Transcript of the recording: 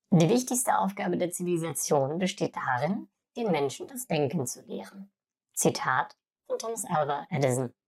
Die wichtigste Aufgabe der Zivilisation besteht darin, den Menschen das Denken zu lehren. Zitat von Thomas Alva Edison.